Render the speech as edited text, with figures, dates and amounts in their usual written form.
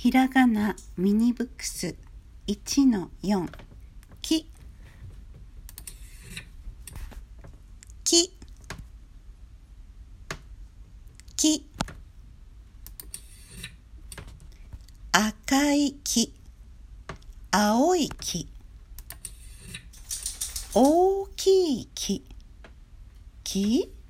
ひらがなミニブックス 1-4 ききき赤い木、青い木、大きい木、木